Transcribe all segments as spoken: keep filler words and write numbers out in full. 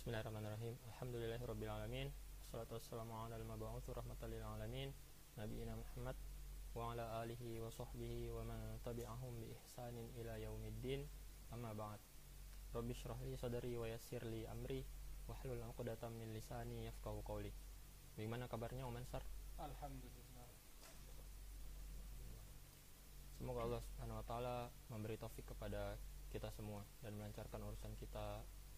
Bismillahirrahmanirrahim. Alhamdulillahirabbil alamin. Wassalatu wassalamu ala al-mab'uts rahmatan lil alamin, nabiyina Muhammad wa ala alihi wa sahbihi wa man tabi'ahum bi ihsanin ila yaumiddin. Amma ba'd. Rabbi shrah li sadri wa yassir li amri wahlul 'uqdatam min lisani yafqahu qawli. Bagaimana kabarnya Om Ansar? Alhamdulillah. Semoga Allah Subhanahu wa taala memberi taufik kepada kita semua dan melancarkan urusan kita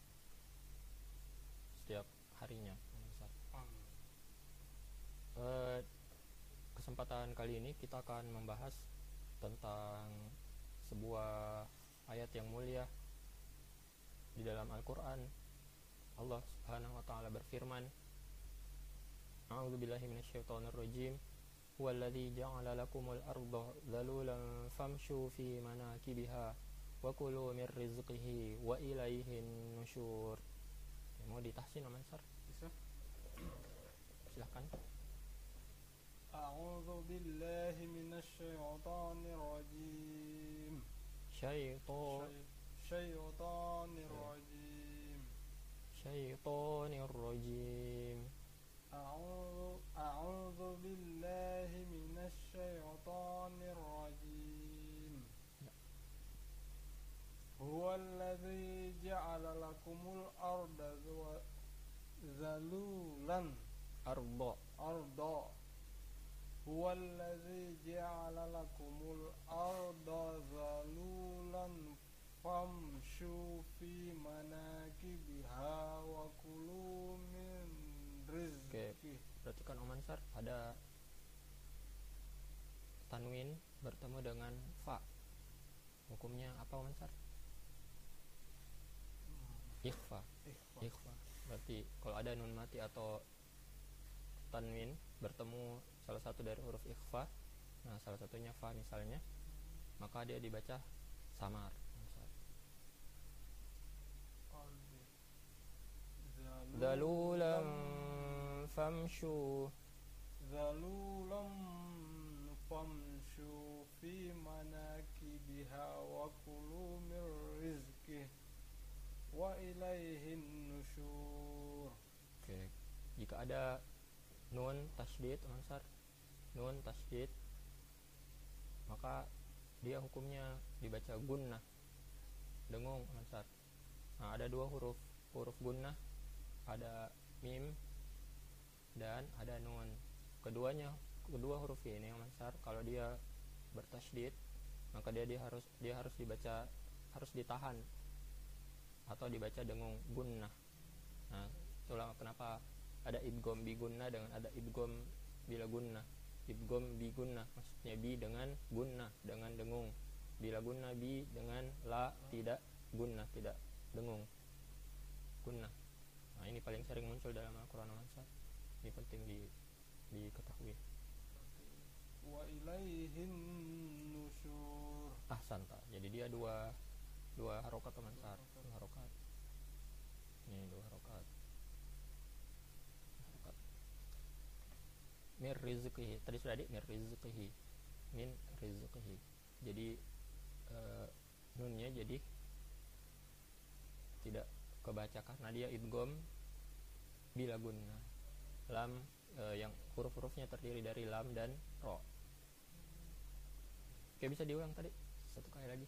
setiap harinya. Amin. Uh, kesempatan kali ini kita akan membahas tentang sebuah ayat yang mulia di dalam Al-Quran. Allah Subhanahu wa taala berfirman, A'udzubillahi minasyaitonirrajim. Huwallazi ja'ala lakumul arda dhalulan famshu fi manakibiha wa kulu mir rizqihi wa ilaihin nusyur. Mau ditahsin Om Ansar? Bisa? Silahkan. A'udzu billahi minasyaitonir rajim. Syaiton Syaitonir rajim. Syaitonir rajim. A'udzu a'udzu billahi minasyaitonir rajim. Huwallazi ja'ala lakumul arda zalulan Arda arda Huwallazi ja'ala lakumul arda zalulan famshu fi manakibiha wa kulu min Oke, rizqih. berarti kan Om Ansar ada tanwin bertemu dengan fa. Hukumnya apa Om Ansar? Ikhfa. Ikhfa. Ikhfa. Berarti kalau ada nun mati atau tanwin bertemu salah satu dari huruf ikhfa, nah salah satunya fa misalnya, maka dia dibaca samar. Dalulam famshu Zalulam famshu fi manakibiha wa kulu min rizqih wa ilaihin nusyur. Oke, jika ada nun tasydid Om Ansar, nun tasydid, maka dia hukumnya dibaca gunnah, dengung Om Ansar. Nah, ada dua huruf huruf gunnah, ada mim dan ada nun. Keduanya kedua huruf ini Om Ansar, kalau dia bertasydid, maka dia, dia harus dia harus dibaca harus ditahan atau dibaca dengung gunnah. Nah, itulah kenapa ada idgham bi gunnah dengan ada idgham bila gunnah. Idgham bi gunnah maksudnya bi dengan gunnah, dengan dengung. Bila gunnah bi dengan la tidak gunnah, tidak dengung. Gunnah. Nah, ini paling sering muncul dalam Al-Qur'an Om Ansar. Ini penting di diketahui. Wa ilaihin nusyur. Ahsanta. Jadi dia dua dua harokat Om Ansar, dua harokat. Ini dua harokat. Harokat. Mir rizqihi. Tadi sudah di mir rizqihi. Min rizqihi. Jadi uh, nunnya jadi tidak kebaca karena dia idgham bila gunnah. Lam uh, yang huruf-hurufnya terdiri dari lam dan ro. Oke, bisa diulang tadi satu kali lagi.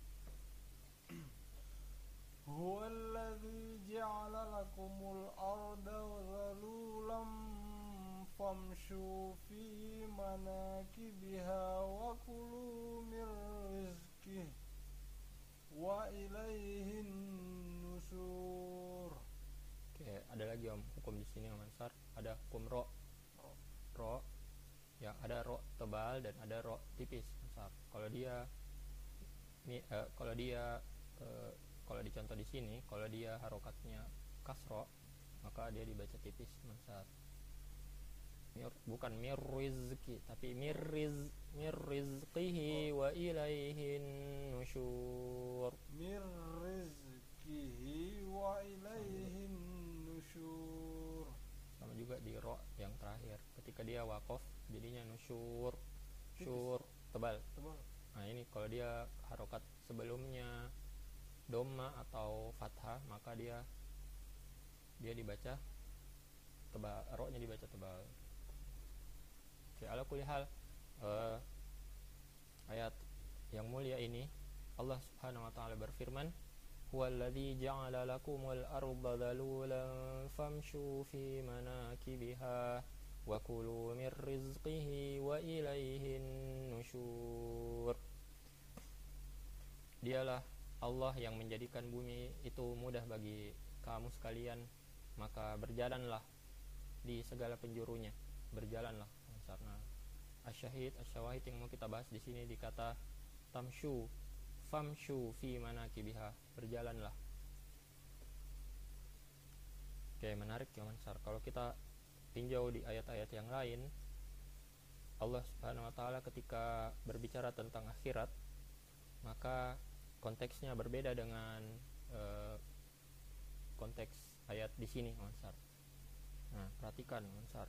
Huwallazi ja'ala lakumul arda zalulan famshu fi manakibiha wa kulu min rizqih wa ilaihin nusyur. Oke, ada lagi Om hukum di sini Om Ansar, ada hukum ro. Ro yang ada ro tebal dan ada ro tipis Om Ansar. Kalau dia ini eh, kalau dia eh, kalau dicontoh di sini, kalau dia harokatnya kasro, maka dia dibaca tipis Om Ansar. Mir, bukan mir rizqi tapi mir riz mir rizqihi wa ilaihin nusyur. Mir rizqihi wa ilaihin nusyur. Sama juga di ro yang terakhir, ketika dia waqaf jadinya nusyur, syur tebal. Tebal. Nah, ini kalau dia harokat sebelumnya dhamma atau fathah, maka dia dia dibaca tebal, roknya dibaca tebal. Oke, ala kulli hal uh, ayat yang mulia ini Allah Subhanahu wa taala berfirman, huwallazi ja'ala lakumul arda dhalulan famshu fi manakibiha wa kulu mir rizqihi wa ilaihin nusyur. Dialah Allah yang menjadikan bumi itu mudah bagi kamu sekalian, maka berjalanlah di segala penjurunya, berjalanlah. Karena asyahid asyawahid yang mau kita bahas di sini dikata tamshu, famshu fi manakibiha, berjalanlah. Oke, menarik ya Mansar. Kalau kita tinjau di ayat-ayat yang lain, Allah Subhanahu wa taala ketika berbicara tentang akhirat, maka konteksnya berbeda dengan uh, konteks ayat di sini Mansar. Nah, perhatikan Mansar.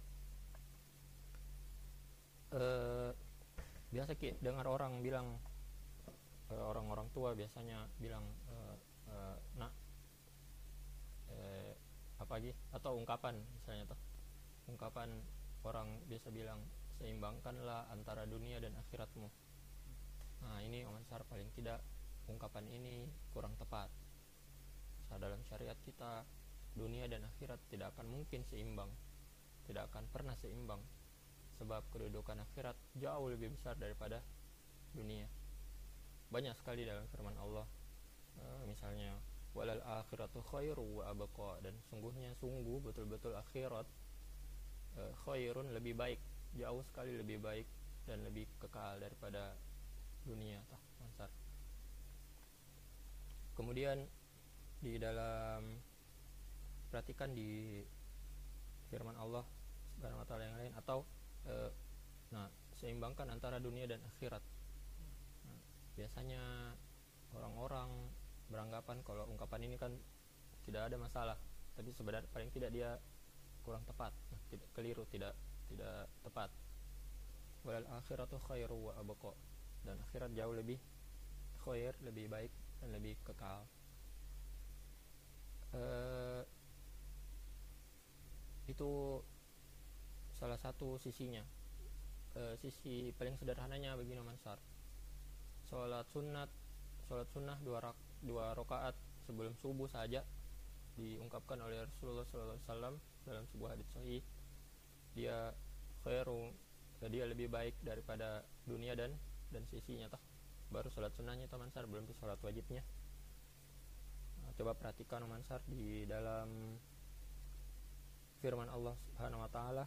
Uh, biasa ki dengar orang bilang, uh, orang-orang tua biasanya bilang, uh, uh, nak, uh, apa lagi? Atau ungkapan misalnya tuh, ungkapan orang biasa bilang, seimbangkanlah antara dunia dan akhiratmu. Nah, ini Mansar paling tidak ungkapan ini kurang tepat. So, dalam syariat kita, dunia dan akhirat tidak akan mungkin seimbang, tidak akan pernah seimbang, sebab kedudukan akhirat jauh lebih besar daripada dunia. Banyak sekali dalam firman Allah, uh, misalnya walal akhiratu khairu wa abqa, dan sungguhnya sungguh betul-betul akhirat uh, khairun, lebih baik, jauh sekali lebih baik dan lebih kekal daripada dunia. Tah, Mansar. Kemudian di dalam, perhatikan di firman Allah Subhanahu wa taala yang lain, atau e, nah, seimbangkan antara dunia dan akhirat. Nah, biasanya orang-orang beranggapan kalau ungkapan ini kan tidak ada masalah, tapi sebenarnya paling tidak dia kurang tepat, nah, tidak keliru, tidak tidak tepat. Walal akhiratu khairu wa abqa, dan akhirat jauh lebih khair, lebih baik dan lebih kekal. Uh, itu salah satu sisinya. Uh, sisi paling sederhananya begini Mansar, sholat sunat, sholat sunnah dua, rak, dua rakaat sebelum subuh saja diungkapkan oleh Rasulullah shallallahu alaihi wasallam dalam sebuah hadits sahih, dia khairu, dia lebih baik daripada dunia dan dan sisinya toh. Baru sholat sunnahnya toh Mansar, belum itu sholat wajibnya. Nah, coba perhatikan Mansar di dalam firman Allah Subhanahu wa taala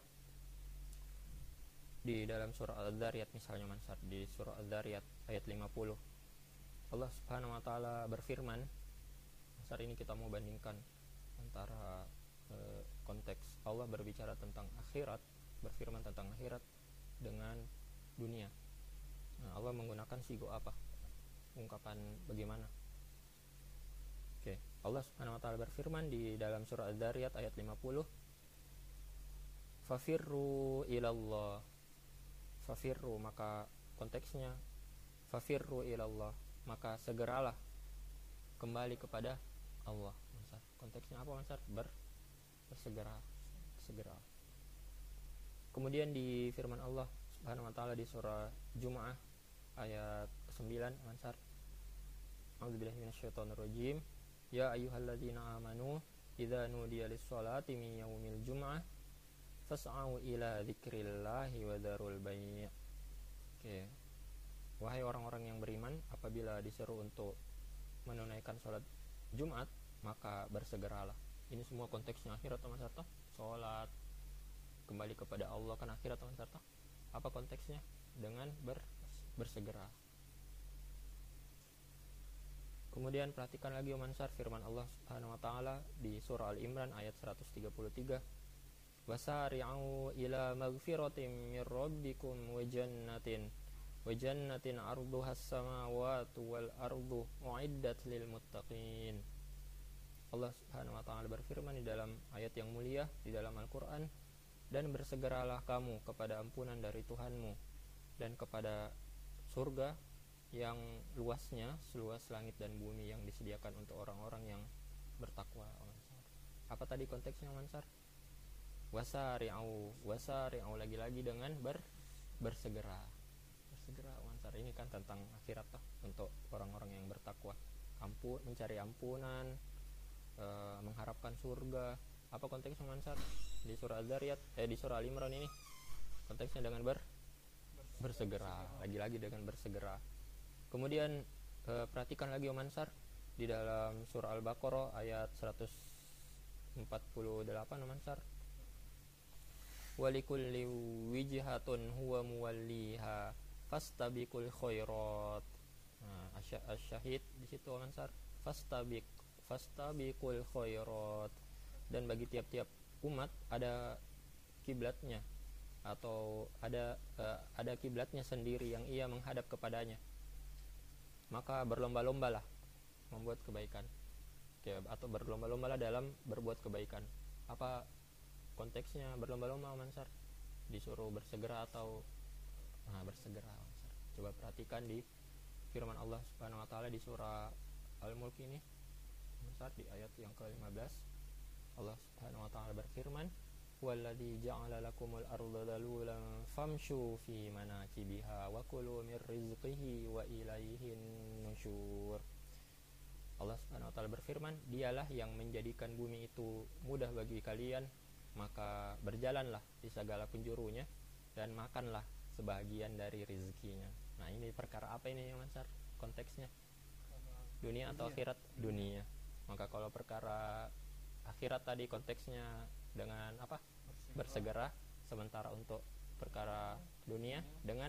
di dalam surah Al-Dzariyat misalnya Mansar, di surah Al-Dzariyat ayat lima puluh, Allah Subhanahu wa taala berfirman. Mansar, ini kita mau bandingkan antara e, konteks Allah berbicara tentang akhirat, berfirman tentang akhirat dengan dunia. Nah, Allah menggunakan sigo apa? Ungkapan bagaimana? Oke, Allah Subhanahu wa taala berfirman di dalam surah Al-Dzariyat ayat lima puluh, fafirru ilallah. Fafirru, maka konteksnya fafirru ilallah, maka segeralah kembali kepada Allah. Mansar, konteksnya apa Mansar? Ber, bersegera, segera. Kemudian di firman Allah Subhanahu wa taala di surah Jumu'ah ayat sembilan Mansar, a'udzubillahi minasyaitonir rajim, ya ayyuhalladzina amanu idza nudiya lis-sholati min yaumil jumu'ah fas'au ila dzikrillahi wa dzarul bai'. Oke. Wahai orang-orang yang beriman, apabila diseru untuk menunaikan sholat Jumat, maka bersegeralah. Ini semua konteksnya akhirat teman serta. Sholat, kembali kepada Allah kan akhirat teman serta. Apa konteksnya? Dengan ber, bersegera. Kemudian perhatikan lagi Mansar firman Allah Subhanahu wa taala di surah Al-Imran ayat seratus tiga puluh tiga. Wasari'u ila maghfiratin mir rabbikum wa jannatin wa jannatin 'arduhas samawati wal ardu u'iddat lil muttaqin. Allah Subhanahu wa taala berfirman di dalam ayat yang mulia di dalam Al-Qur'an, dan bersegeralah kamu kepada ampunan dari Tuhanmu dan kepada surga yang luasnya seluas langit dan bumi yang disediakan untuk orang-orang yang bertakwa. Apa apa tadi konteksnya Mansar? Wasari'u, wasari'u lagi-lagi dengan ber bersegera. Bersegera Mansar, ini kan tentang akhirat toh, untuk orang-orang yang bertakwa. Ampun, mencari ampunan, e, mengharapkan surga. Apa konteksnya Mansar? Di surah Az-Zariyat, eh di surah Al-Imran ini. Konteksnya dengan ber bersegera, lagi-lagi dengan bersegera. Kemudian e, perhatikan lagi Mansar di dalam surah Al-Baqarah ayat seratus empat puluh delapan Mansar. Walikulli wijhatun huwa muwalliha fastabiqul khairat. Nah, asy-syahid di situ Mansar. Fastabiq fastabiqul khairat. Dan bagi tiap-tiap umat ada kiblatnya atau ada uh, ada kiblatnya sendiri yang ia menghadap kepadanya. Maka berlomba-lombalah membuat kebaikan. Oke, atau berlomba-lombalah dalam berbuat kebaikan. Apa konteksnya berlomba-lomba Mansar? Disuruh bersegera atau nah, bersegera Mansar. Coba perhatikan di firman Allah Subhanahu wa taala di surah Al-Mulk ini Mansar, di ayat yang ke lima belas. Allah Subhanahu wa taala berfirman, "Walladzi ja'ala lakumul arda dalulan famshu fi manakibiha wa kulu mir rizqihi wa ilaihin nusyur." Allah Subhanahu wa taala berfirman, "Dialah yang menjadikan bumi itu mudah bagi kalian, maka berjalanlah di segala penjurunya dan makanlah sebahagian dari rezekinya." Nah, ini perkara apa ini Mansar? Konteksnya dunia atau akhirat? Dunia. Maka kalau perkara akhirat tadi konteksnya dengan apa? Bersegera. Sementara untuk perkara dunia dengan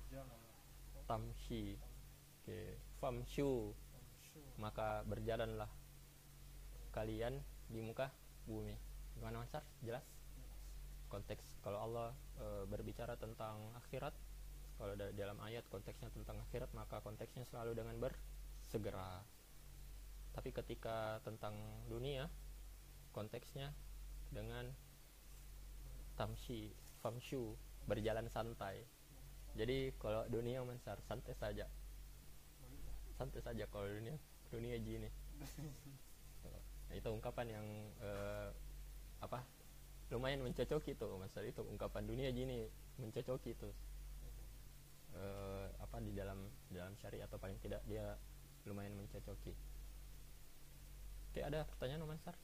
tamshi. Oke, famshu. Maka berjalanlah kalian di muka bumi. Gimana Mansar? Jelas? Konteks kalau Allah e, berbicara tentang akhirat, kalau da- dalam ayat konteksnya tentang akhirat, maka konteksnya selalu dengan bersegera. Tapi ketika tentang dunia, konteksnya dengan tamshi, famshu, berjalan santai. Jadi kalau dunia Mansar santai saja. Santai saja kalau dunia, dunia gini. Nah, itu ungkapan yang eh, apa? Lumayan mencocoki tuh Mansar, itu ungkapan dunia gini mencocoki tuh. Eh, apa di dalam dalam syariat atau paling tidak dia lumayan mencocoki. Oke, ada pertanyaan Mansar?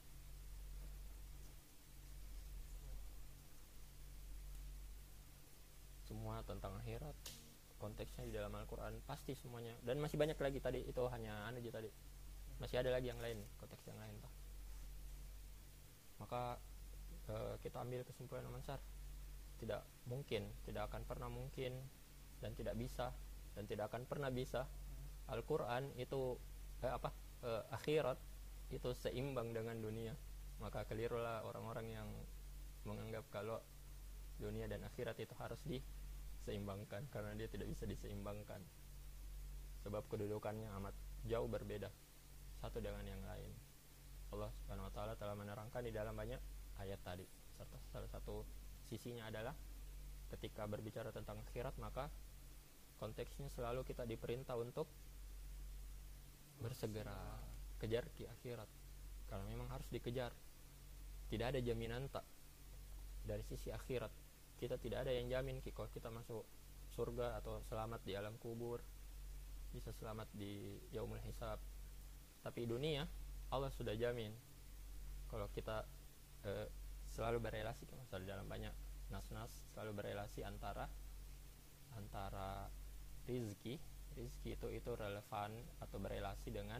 Semua tentang akhirat, konteksnya di dalam Al-Quran pasti semuanya, dan masih banyak lagi. Tadi itu hanya anu aja tadi, masih ada lagi yang lain, konteks yang lain toh. Maka e, kita ambil kesimpulan Mansar, tidak mungkin, tidak akan pernah mungkin, dan tidak bisa, dan tidak akan pernah bisa Al-Quran itu eh, apa e, akhirat itu seimbang dengan dunia. Maka kelirulah orang-orang yang menganggap kalau dunia dan akhirat itu harus diseimbangkan, karena dia tidak bisa diseimbangkan, sebab kedudukannya amat jauh berbeda satu dengan yang lain. Allah Subhanahu wa taala telah menerangkan di dalam banyak ayat tadi. Serta salah satu sisinya adalah ketika berbicara tentang akhirat, maka konteksnya selalu kita diperintah untuk bersegera kejar ki akhirat, karena memang harus dikejar. Tidak ada jaminan tak dari sisi akhirat. Kita tidak ada yang jamin kalau kita masuk surga atau selamat di alam kubur, bisa selamat di yaumul hisab. Tapi dunia Allah sudah jamin. Kalau kita eh, selalu berelasi, misalnya dalam banyak nas-nas selalu berelasi antara antara rizki, rizki itu itu relevan atau berelasi dengan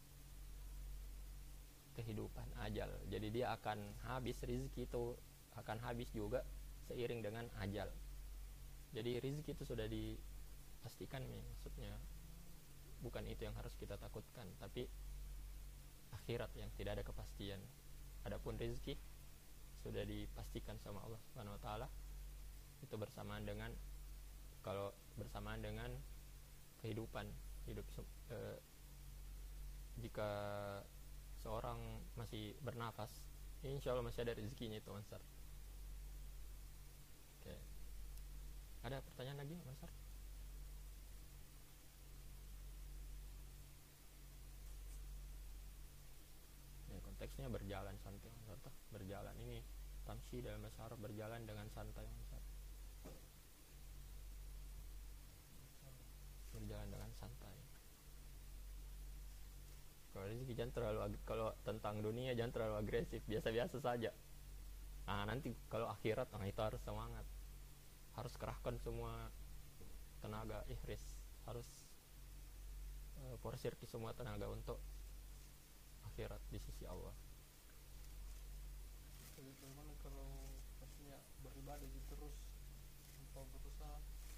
kehidupan ajal. Jadi dia akan habis, rizki itu akan habis juga seiring dengan ajal. Jadi rizki itu sudah dipastikan nih, maksudnya bukan itu yang harus kita takutkan, tapi akhirat yang tidak ada kepastian. Adapun rizki sudah dipastikan sama Allah Subhanahu wa taala, itu bersamaan dengan, kalau bersamaan dengan kehidupan hidup. E, jika seorang masih bernafas, insya Allah masih ada rezekinya itu Mansar. Oke, ada pertanyaan lagi Mansar? Ya, konteks konteksnya berjalan santai Ansar, berjalan ini tamshi dalam bahasa Arab berjalan dengan santai Ansar. Berjalan dengan santai. Kalau rezeki jangan terlalu ag- kalau tentang dunia jangan terlalu agresif, biasa-biasa saja. Nah nanti kalau akhirat, nah itu harus semangat, harus kerahkan semua tenaga, ihris, harus uh, porsirki semua tenaga untuk akhirat di sisi Allah. Jadi bagaimana kalau maksudnya beribadah gitu terus tanpa berusaha?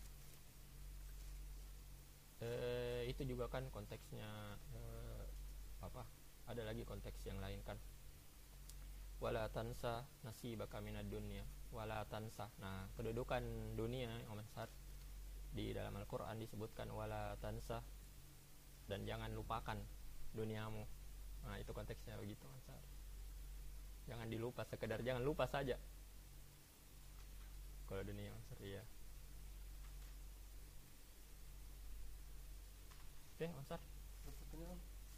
Eh, itu juga kan konteksnya eh, apa? Ada lagi konteks yang lain kan. Wala tansa nasibaka minad dunya. Wala tansa. Nah, kedudukan dunia Om Ansar di dalam Al-Qur'an disebutkan wala tansa, dan jangan lupakan duniamu. Nah, itu konteksnya begitu Ansar. Jangan dilupa, sekedar jangan lupa saja. Kalau dunia Ansar ya. Oke, Ansar. Ada pertanyaan?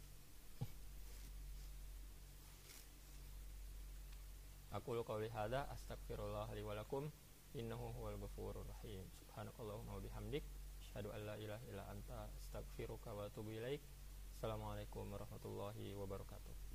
Aku qauli hadza astaghfirullah li wa lakum innahu huwal ghafurur rahim. Subhanakallahumma wa bihamdik asyhadu an la ilaha illa anta astaghfiruka wa atubu ilaik. Assalamualaikum warahmatullahi wabarakatuh.